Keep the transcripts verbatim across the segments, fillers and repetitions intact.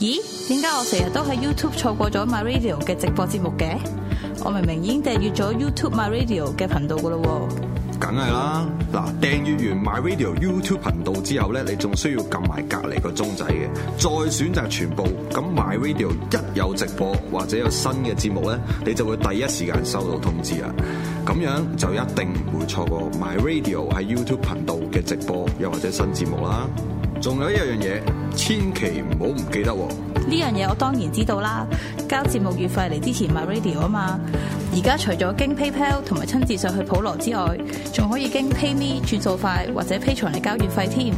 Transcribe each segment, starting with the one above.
咦？點解我成日都喺 YouTube 錯過咗 My Radio 嘅直播節目嘅？我明明已經訂閱咗 YouTube My Radio 嘅頻道噶咯喎。 梗係啦，嗱，訂閱完 My Radio YouTube 頻道之後咧，你仲需要撳埋隔離個鐘仔嘅，再選擇全部。咁 My Radio 一有直播或者有新嘅節目咧，你就會第一時間收到通知啦。咁樣就一定唔會錯過 My Radio 喺 YouTube 頻道嘅直播又或者新節目啦。仲有一樣嘢，千祈唔好唔記得喎。 呢樣嘢我當然知道啦，交節目月費嚟支持 My Radio 啊嘛。而家除咗經 PayPal 同埋親自上去普羅之外，仲可以經 PayMe 轉數快或者 Patreon嚟交月費添。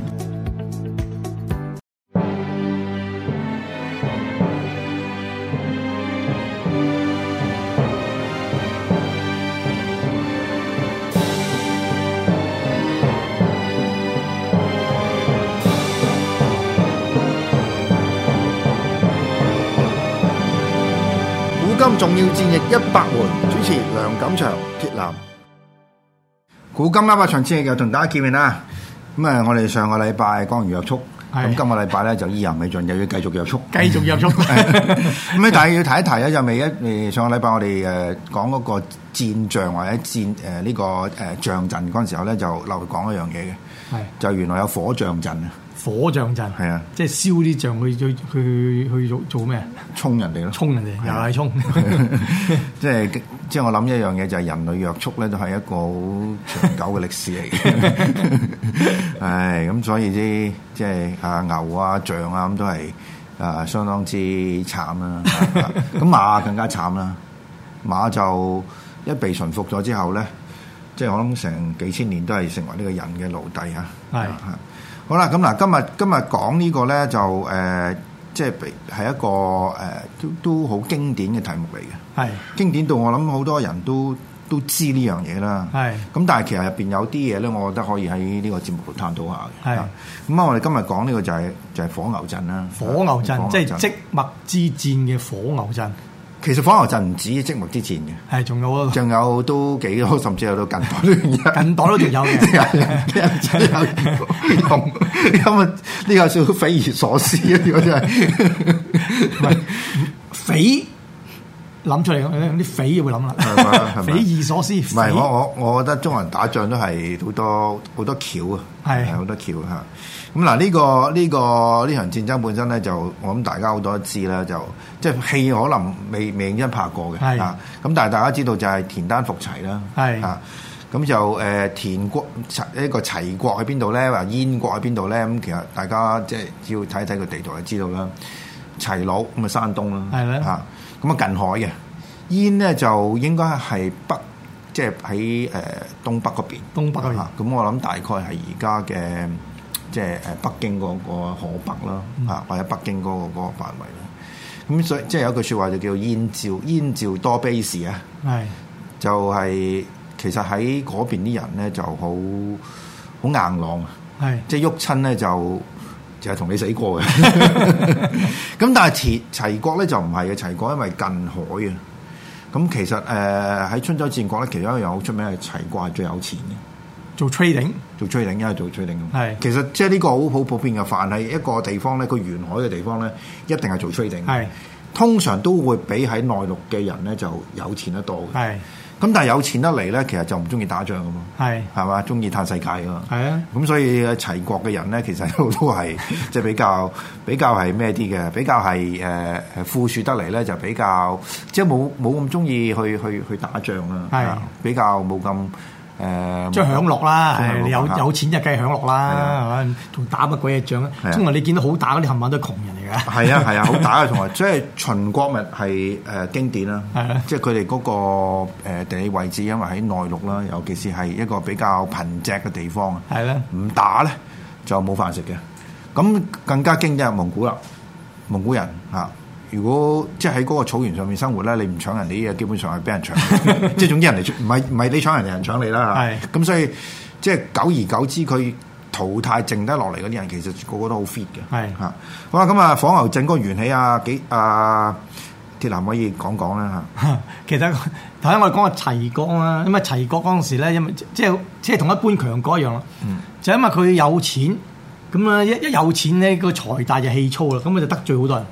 今重要戰役一百回，主持梁錦祥、鐵男。古今一百場戰役又同大家見面啦。咁啊，我哋上個禮拜講完約束，咁今個禮拜咧就意猶未盡，又要繼續約束， 繼續約束。 咁咧，但係要提一提咧，就未一誒上個禮拜我哋誒講嗰個戰象或者戰誒呢、呃這個誒象陣嗰陣時候咧，就漏講一樣嘢嘅，係就原來有火象陣啊。 火象陣係啊，即係燒啲象去去去去做做咩？ 衝人哋咯， 衝人哋又係衝。 即係即係我諗一樣嘢就係人類約束咧，都係一個好長久嘅歷史嚟嘅。係咁，所以啲即係啊牛啊象啊咁都係啊相當之慘啦。咁馬更加慘啦，馬就一被馴服咗之後咧，即係我諗成幾千年都係成為呢個人嘅奴隸嚇。係係。好啦，咁嗱，今日今日講呢個咧就誒、呃，即係係一個誒、呃，都都好經典嘅題目嚟嘅。係經典到我諗好多人都都知呢樣嘢啦。係咁，但係其實入邊有啲嘢咧，我覺得可以喺呢個節目度探討下嘅。係咁啊，我哋今日講呢個就係、是、就係、是、火牛陣啦。火牛陣即係即墨之戰嘅火牛陣。其實火牛陣唔止即墨之戰嘅，係仲有啊，仲有都幾多，甚至有到近代都近代都仲有嘅，有用。咁啊，呢個少匪夷所思啊！呢個真係匪諗出嚟，啲匪會諗啦，匪夷所思。唔係我我我覺得中國人打仗都係好多好多橋啊，係好多橋嚇。咁嗱，呢個呢個呢場戰爭本身咧，就我諗大家好多都知啦，就即係戲可能未未認真拍過嘅，係啊。咁但係大家知道就係田單伏齊啦，係啊。咁就誒、呃、田國齊呢個齊國喺邊度咧？話燕國喺邊度咧？咁其實大家即係只要睇一睇個地圖就知道啦。齊魯咁啊，山東啦，係咧嚇。咁啊近海嘅燕咧就應該係北，即係喺誒東北嗰邊。東北嗰邊。咁我諗大概係而家嘅。即係誒北京嗰個河北啦，嚇、嗯、或者北京嗰、嗰個嗰個範圍啦。咁所以即係有一句説話就叫燕趙燕趙多卑士啊，係就係、是、其實喺嗰邊啲人咧就好好硬朗啊，係即係喐親咧就就係同你死過嘅。咁但係齊齊國咧就唔係嘅，齊國因為近海啊。咁其實誒喺、呃、春秋戰國咧，其中一樣好出名係齊國係最有錢嘅。做 trading， 做 trading，因為做 trading 咁。係，其實即係呢個好好普遍嘅，凡係一個地方咧，個沿海嘅地方咧，一定係做 trading。係，通常都會比喺內陸嘅人咧就有錢得多嘅。係，咁但係有錢得嚟咧，其實就唔中意打仗㗎嘛。係，係嘛，中意嘆世界㗎嘛。係啊，咁所以齊國嘅人咧，其實都都係即係比較比較係咩啲嘅，比較係誒誒富庶得嚟咧，就比較即係冇冇咁中意去去去打仗啦。係，比較冇咁。誒，即係享樂啦，係你有有錢就梗係享樂啦，係嘛？仲打乜鬼嘢仗啊？通常你見到好打嗰啲冚唪唥都係窮人嚟嘅。係啊係啊，好打嘅同埋即係秦國咪係誒經典啦，即係佢哋嗰個誒地理位置，因為喺內陸啦，尤其是係一個比較貧瘠嘅地方啊。係咧，唔打咧就冇飯食嘅。咁更加經典係蒙古啦，蒙古人嚇。如果即係喺嗰個草原上面生活咧，你唔搶人哋啲嘢，基本上係俾人搶。即係總之人哋唔係唔係你搶人哋，人搶你啦。係咁，所以即係久而久之，佢淘汰剩得落嚟嗰啲人，其實個個都好 fit 嘅。係嚇，好啦，咁啊，火牛陣嗰個緣起啊，幾啊鐵男可以講講啦嚇。其實頭先我哋講個齊國啊，因為齊國嗰陣時咧，因為即係即係同一般強國一樣啦。嗯，就因為佢有錢，咁啊一一有錢咧，個財大就氣粗啦，咁佢就得罪好多人。嗯。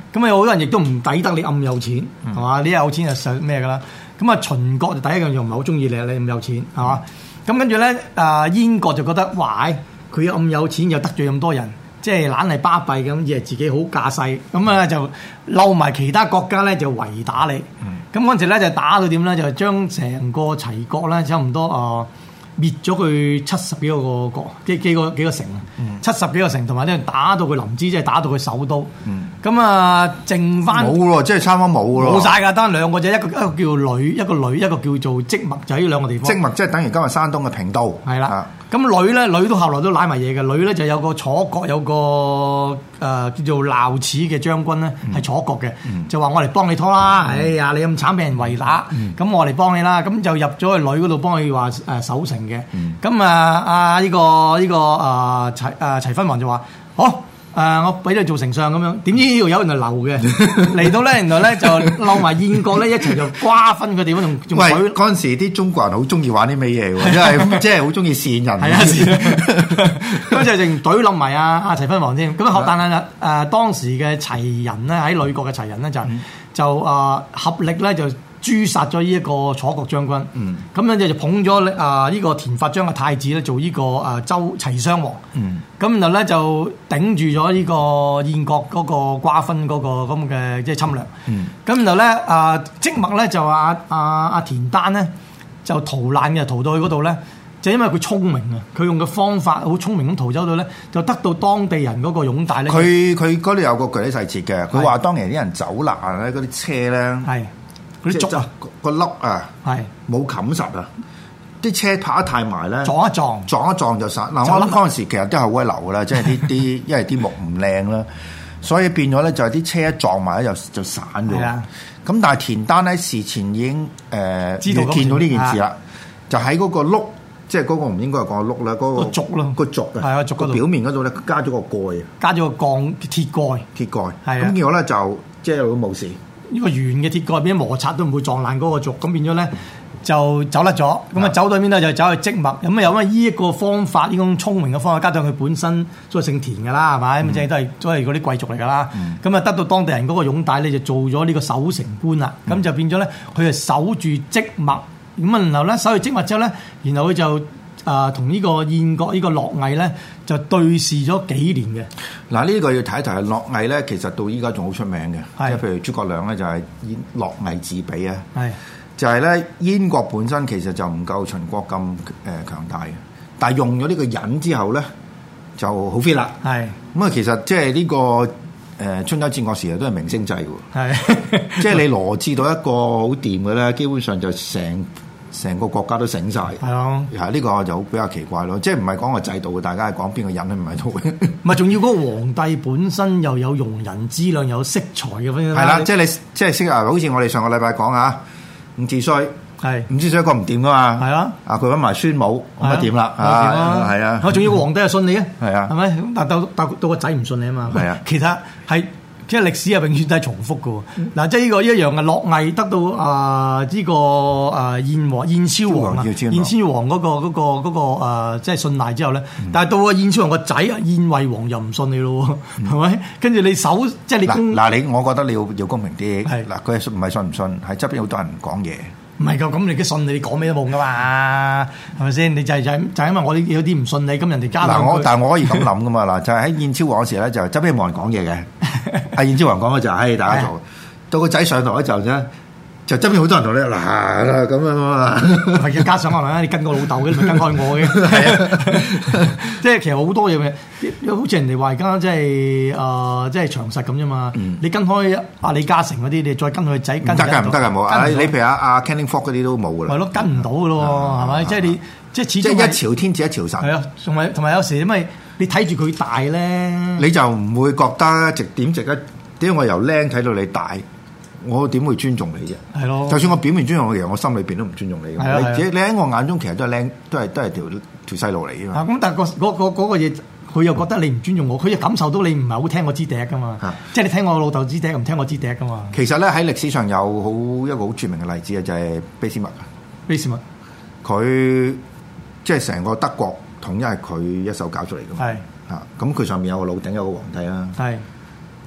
咁啊有好多人亦都唔抵得你咁有錢，係嘛？你有錢就實咩㗎啦？咁啊秦國就第一樣就唔係好中意你，你咁有錢係嘛？咁跟住咧啊燕國就覺得哇，佢咁有錢又得罪咁多人。即係懶係巴閉咁，以為自己好架勢，咁啊就嬲埋其他國家咧就圍打你。咁嗰陣時咧就打到點咧，就將成個齊國咧差唔多啊、呃、滅咗佢七十幾個國，幾幾個幾個城啊，嗯、七十幾個城，同埋咧打到佢臨淄，即係打到佢首都。咁啊、嗯，剩翻冇咯，即係差唔多冇咯， 冇晒㗎，得兩個啫，一個一個叫呂，一個呂，一個叫做即墨，就喺呢兩個地方。 即墨即係等於今日山東嘅平都。係啦。 咁呂咧，呂都後來都揦埋嘢嘅。呂咧就有個楚國有個誒、呃、叫做鬧齒嘅將軍咧，係、嗯、楚國嘅，嗯、就話我嚟幫你拖啦。嗯、哎呀，你咁慘俾人圍打，咁、嗯、我嚟幫你啦。咁就入咗去呂嗰度幫佢話誒守城嘅。咁、嗯、啊啊呢、這個呢、這個誒齊誒齊分王就話好。誒、呃，我俾你做丞相咁樣，點知呢度有人就流嘅嚟到咧，原來咧就撈埋燕國咧一齊就瓜分佢哋嗰種。喂， 嗰陣時啲中國人好中意玩啲咩嘢喎？因為即係好中意善人。係啊， 咁就淨懟冧埋阿阿齊分王添。咁啊，但係誒、呃、當時嘅齊人咧，喺呂國嘅齊人咧就、嗯、就誒、呃、合力咧就誅殺咗呢一個楚國將軍。嗯，咁樣就就捧咗啊呢個田法章嘅太子咧做呢個誒周齊襄王。嗯。咁然後咧就頂住咗呢個燕國嗰個瓜分嗰個咁嘅即係侵略。嗯。咁然後咧啊，即墨咧就話阿阿阿田單咧就逃難嘅，逃到去嗰度咧，就因為佢聰明啊，佢用嘅方法好聰明咁逃走到咧，就得到當地人嗰個擁戴咧。 佢佢嗰度有個具體細節嘅，佢話當年啲人走難咧，嗰啲車咧係嗰啲竹啊個粒啊係冇冚實啊。啲車拍得太埋咧， 撞一撞， 撞一撞就散。嗱，我諗嗰陣時其實都係好鬼流噶啦，即係啲啲，因為啲木唔靚啦，所以變咗咧就係啲車一撞埋咧就就散咗。咁但係田單喺事前已經誒知道見到呢件事啦，就喺嗰個轆，即係嗰個唔應該係講轆啦，嗰個軸咯， 個軸啊，係啊，軸個表面嗰度咧加咗個蓋， 加咗個鋼鐵蓋， 鐵蓋。係咁，結果咧就即係都冇事。 呢個圓嘅鐵蓋變咗摩擦都唔會撞爛嗰個軸，咁變咗咧。就走甩咗，咁啊走到邊咧就走去即墨，咁啊有咩呢一個方法，呢種聰明嘅方法，加上佢本身都係姓田㗎啦，係咪？咁即係都係都係嗰啲貴族嚟㗎啦。咁啊、嗯、得到當地人嗰個擁戴咧，就做咗呢個守城官啦。咁、嗯、就變咗咧，佢係守住即墨，咁啊然後咧守住即墨之後咧，然後佢就啊同呢個燕國呢個樂毅咧就對峙咗幾年嘅。 嗱呢個要睇一睇，樂毅咧其實到依家仲好出名嘅，即係是譬如諸葛亮咧就係以樂毅自比啊。係。就係咧，燕國本身其實就唔夠秦國咁誒強大嘅，但係用咗呢個忍之後咧，就好 fit 啦。係咁啊，其實即係呢個誒春秋戰國時代都係明星制嘅喎。係是，即係你羅致到一個好掂嘅咧，基本上就成成個國家都醒晒。係啊，係呢個就比較奇怪咯。即係唔係講個制度嘅，大家係講邊個忍唔喺度嘅。 唔係，仲要嗰個皇帝本身又有容人之量，有色才嘅。係啦，即係你即係識啊，好似我哋上個禮拜講啊。伍子胥係伍子胥一個唔掂噶嘛，係啊，啊佢揾埋孫武咁啊掂啦，係啊，我仲要個皇帝係信你啊，係啊，係咪？但到到到個仔唔信你啊嘛，係啊，其實係即係歷史係永遠都係重複嘅喎。嗱，即係呢個一樣嘅樂毅得到啊呢個啊燕王燕昭王啊，燕昭王嗰個嗰個嗰個誒即係信賴之後咧，但係到個燕昭王個仔啊燕惠王又唔信你咯，係咪？跟住你守即係你嗱嗱你，我覺得你要要公平啲，係嗱佢係唔係信唔信？係側邊好多人講嘢。 唔係㗎，咁你嘅信你講咩都冇噶嘛，係咪先？你就係就係就係因為我哋有啲唔信你，咁人哋加嗱我，但係我可以咁諗噶嘛嗱，就係喺燕昭王嗰時咧，就側邊冇人講嘢嘅，阿燕昭王講嘅就係、是，大家做，到個仔上台嗰陣啫。就側邊好多人同你嗱咁樣啊嘛， 係加上可能你跟我老豆嘅，你咪跟開我嘅，即係其實好多嘢嘅，好似人哋話而家即係誒，即係長實咁啫嘛。嗯、你跟開阿李嘉誠嗰啲，你再跟佢仔，跟唔得㗎， 唔得㗎，冇啊！你譬如阿阿 Canning Fok 嗰啲都冇㗎啦， 係咯，跟唔到㗎咯，係咪？即係你即係始終即係一朝天子一朝臣， 係啊，同埋同埋有時因為你睇住佢大咧， 你就唔會覺得值點值得？點解我由僆睇到你大？我點會尊重你啫？係咯，就算我表面尊重我，其實我心裏邊都唔尊重你。係啊，你你喺我眼中其實都係靚，都係都係條條細路嚟嘅嘛。咁但係個嗰嗰嗰個嘢，佢又覺得你唔尊重我，佢又感受到你唔係好聽我支笛噶嘛。即係你聽我老豆支笛，唔聽我支笛噶嘛。 其實咧喺歷史上有好一個好著名嘅例子啊，就係卑斯麥。 卑斯麥， 佢即係成個德國統一係佢一手搞出嚟㗎嘛。係啊，咁佢上面有個老頂，有個皇帝啦。係。咁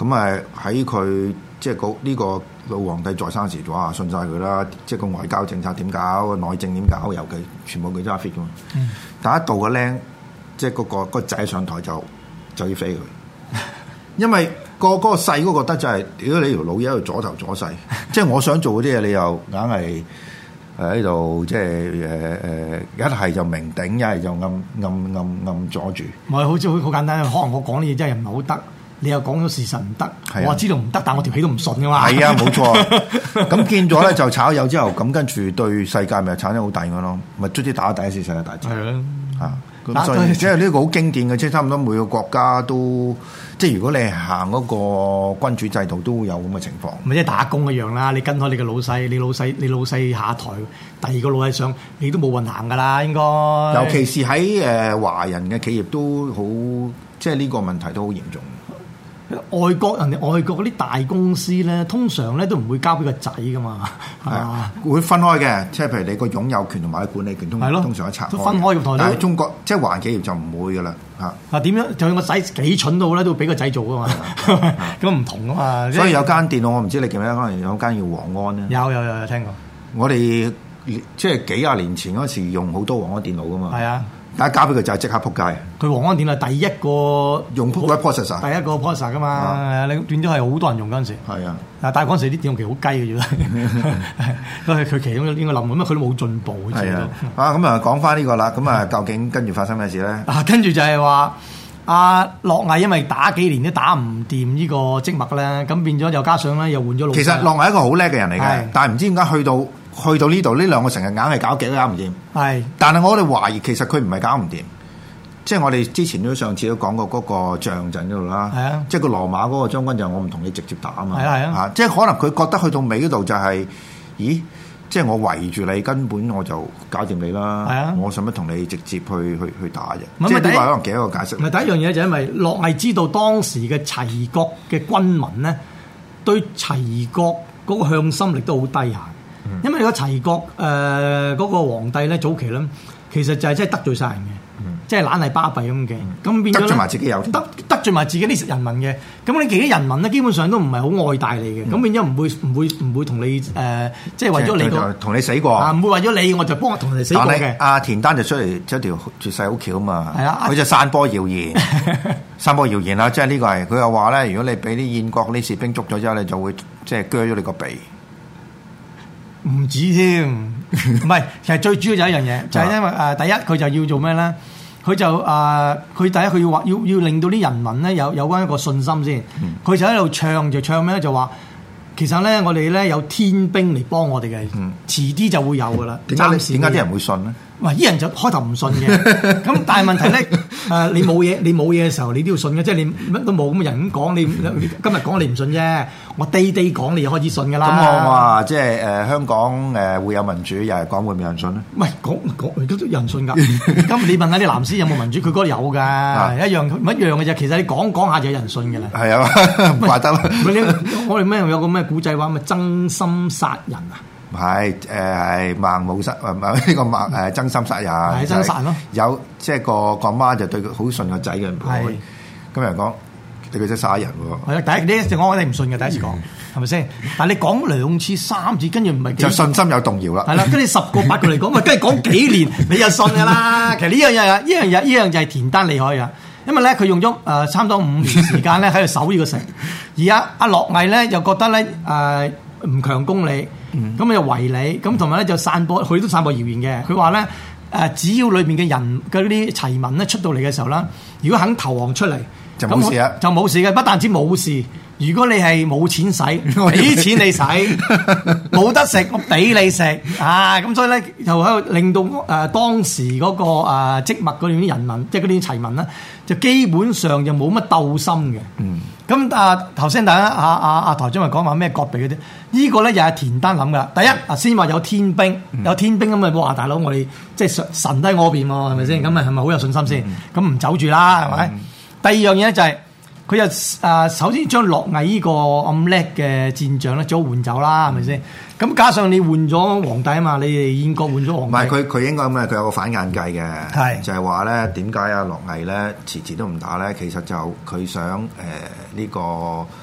咁啊喺佢即係個呢個老皇帝在生時，哇信晒佢啦！即係個外交政策點搞，內政點搞，尤其全部佢揸 fit 噶嘛。嗯、但一到個僆，即係嗰個個仔上台就就要飛佢，因為、個嗰、個細嗰個覺得就係、是，如果你條老嘢喺度阻頭阻勢，即係我想做嗰啲嘢，你又硬係。誒喺度即係誒誒，一係就明頂，一係就暗暗暗暗阻住。 唔係好似好好簡單，可能我講啲嘢真係唔係好得，你又講咗事實唔得，啊、我知道唔得，但我條氣都唔順噶嘛。係啊，冇錯。咁見咗咧就炒魷之後，咁跟住對世界咪產生好大嘅咯，咪卒之打第一次世界大戰。係啊，嚇。咁所以即係呢個好經典嘅，即係差唔多每個國家都，即係如果你係行嗰個君主制度，都會有咁嘅情況。 咪即係打工一樣啦，你跟開你嘅老細，你老細你老細下台，第二個老細上，你都冇運行噶啦，應該。尤其是喺誒華人嘅企業都好，即係呢個問題都好嚴重。 外國人哋外國嗰啲大公司咧，通常咧都唔會交俾個仔噶嘛，係啊， 會分開嘅，即係譬如你個擁有權同埋管理權通通常一拆開， 都分開嘅。 但係中國即係華人企業就唔會噶啦，嚇。 嗱點樣？就算個仔幾蠢到咧，都俾個仔做噶嘛，咁唔同噶嘛。 所以有間電腦我唔知你記唔記得，可能有間叫黃安咧。 有有有有聽過。 我哋即係幾廿年前嗰時用好多黃安電腦噶嘛。係啊。大家交俾佢就係即刻撲街。佢黃安電腦第一個用 processor， 第一個 processor 噶嘛，你變咗係好多人用嗰陣時。 係啊， 但係嗰陣時啲電腦其實好雞嘅啫，都係佢其中應該冧咁啊，佢都冇進步。 係啊，啊咁啊講翻呢個啦，咁啊究竟跟住發生咩事咧？ 啊，跟住就係話阿樂毅因為打幾年都打唔掂呢個積木咧，咁變咗又加上咧又換咗老。 其實樂毅係一個好叻嘅人嚟嘅，但係唔知點解去到。去到呢度呢兩個成日硬係搞極都搞唔掂，係是。但係我哋懷疑其實佢唔係搞唔掂，即係我哋之前都上次都講過嗰個象陣嗰度啦，係啊，即係個羅馬嗰個將軍就我唔同你直接打啊嘛，係啊係啊，即係可能佢覺得去到尾嗰度就係、是，咦，即係我圍住你根本我就搞掂你啦，係啊，我使乜同你直接去去去打啫？即係呢個可能幾一個解釋。 唔係第一樣嘢就因為樂毅知道當時嘅齊國嘅軍民咧，對齊國嗰個向心力都好低下。因為個齊國誒嗰、呃那個皇帝咧早期咧，其實就係真係得罪晒人嘅，嗯、即係懶係巴閉咁嘅，咁、嗯、變咗得罪埋自己有得得罪埋自己啲人民嘅，咁你自己人民咧基本上都唔係好愛戴你嘅，咁、嗯、變咗唔會唔會唔會同你誒、呃，即係為咗你個同你死過啊，唔會為咗你我就幫我同你死過嘅。 阿田丹就出嚟出條絕世好橋啊嘛，係啊，佢就散播謠言，散播謠言啦，即係呢個係佢又話咧，如果你俾啲燕國啲士兵捉咗之後，你就會即係鋸咗你個鼻。 唔止添，唔係，其實最主要就係一樣嘢，就係、是、因為誒、呃、第一佢就要做咩咧？佢就誒佢、呃、第一佢要話要要令到啲人民咧有有關一個信心先。佢、嗯、就喺度唱就唱咩咧？就話其實咧我哋咧有天兵嚟幫我哋嘅，嗯、遲啲就會有噶啦。 點解點解啲人會信咧？ 唔係啲人就開頭唔信嘅，咁但係問題咧，誒、呃、你冇嘢，你冇嘢嘅時候，你都要信嘅，即係你乜都冇咁嘅人咁講，你今日講你唔信啫，我day day講你就開始信㗎啦。咁我話即係誒香港誒會有民主，又係講會唔會有人信咧？ 唔係講講都有人信㗎。咁你問下啲藍絲有冇民主，佢覺得有㗎，啊、一樣唔一樣嘅啫。其實你講講下就有人信㗎啦。係啊，唔怪得啦。 我哋咩有個咩古仔話咪真心殺人啊？ 係誒係孟母殺誒唔係呢個孟誒真心殺人， 係真殺咯。 有即係個個媽就對佢好信個仔嘅，係咁人講對佢真殺人喎。係啊，第一你一直講我哋唔信嘅，第一次講係咪先？但係你講兩次三次，跟住唔係就信心有動搖啦。 係啦，跟住十個八個嚟講，喂，跟住講幾年你就信㗎啦。其實呢樣嘢呢樣嘢呢樣就係田丹厲害啊，因為咧佢用咗誒差唔多五年時間咧喺度守呢個城，而家阿樂毅咧又覺得咧誒唔強攻你。咁啊又圍你，咁同埋咧就散播，佢都散播謠言嘅。佢話咧誒，只要裏邊嘅人嗰啲齊民咧出到嚟嘅時候啦，如果肯投降出嚟， 就冇事啊， 就冇事嘅。不但止冇事，如果你係冇錢使，俾錢你使，冇得食，我俾你食啊！咁所以咧，就喺度令到誒、呃、當時嗰、那個誒積物嗰啲人民，即係嗰啲齊民咧，就基本上就冇乜鬥心嘅。嗯。咁啊頭先大家阿阿阿台長咪講話咩割鼻嗰啲，呢、這個咧又係田丹諗噶。第一啊，先話有天兵，有天兵咁啊，哇大佬我哋即係神都喺我邊喎，係咪先？咁啊係咪好有信心先？咁唔、嗯、走住啦，係咪？嗯、第二樣嘢咧就係、是。佢又誒首先將樂毅呢個咁叻嘅戰將咧，早換走啦，係咪先？咁加上你換咗皇帝啊嘛，你哋燕國換咗皇帝。唔係佢佢應該咁啊，佢有個反眼計嘅，係就係話咧點解啊樂毅咧遲遲都唔打咧？其實就佢想誒呢、呃這個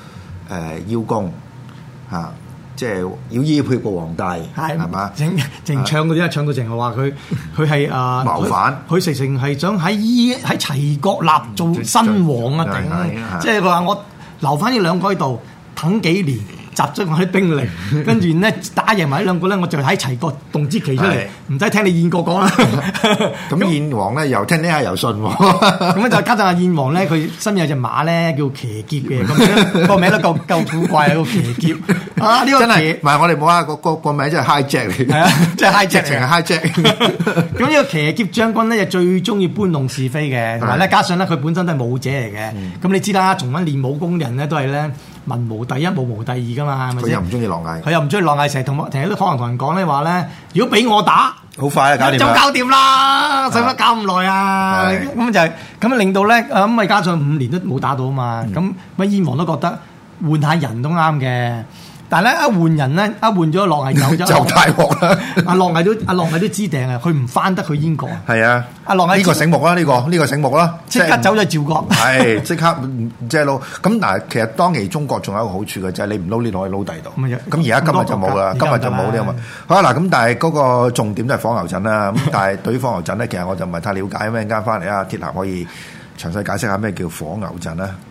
邀功嚇，即係要依配個皇帝係嘛？ 淨淨唱嗰啲啊，唱到淨係話佢佢係啊謀反， 佢直情係想喺依喺齊國立做新王啊！頂，即係佢話我留翻呢兩個喺度等幾年。集中我啲兵力，跟住咧打贏埋呢兩個咧，我就喺齊國動支旗出嚟，唔使聽你燕國講啦。 咁燕王咧又聽聽下又信喎。 咁咧就加上阿燕王咧，佢身邊有隻馬咧叫騎劫嘅，咁個名都夠夠古怪啊！個騎劫啊，呢個真係唔係我哋冇話個個個名真係 hijack 嚟嘅，係啊， 即係 hijack 情係 hijack。 咁呢個騎劫將軍咧就最中意搬弄是非嘅，同埋咧加上咧佢本身都係武者嚟嘅。咁你知啦，從緊練武功嘅人咧都係咧。文無第一，武無第二噶嘛，係咪先？ 佢又唔中意落嗌， 佢又唔中意落嗌，成日同成日都可能同人講咧話咧，如果俾我打， 好快啊，搞掂就搞掂啦，使乜搞咁耐啊？咁就係咁令到咧，咁咪加上五年都冇打到啊嘛，咁乜燕王都覺得換下人都啱嘅。但係咧一換人咧，一換咗樂毅走咗， 就大鑊啦！ 阿樂毅都阿樂毅都知定啊，佢唔翻得去燕國。 係啊， 阿樂毅呢個醒目啦，呢個呢個醒目啦， 即刻走咗趙國。 係即刻即係撈。咁嗱，其實當期中國仲有一個好處嘅，就係你唔撈呢度，可以撈第度。咁而家今日就冇啦，今日就冇呢個嘛。好啦，嗱咁但係嗰個重點都係火牛陣啦。咁但係對於火牛陣咧，其實我就唔係太了解。咁陣間翻嚟啊，鐵男可以詳細解釋下咩叫火牛陣啦。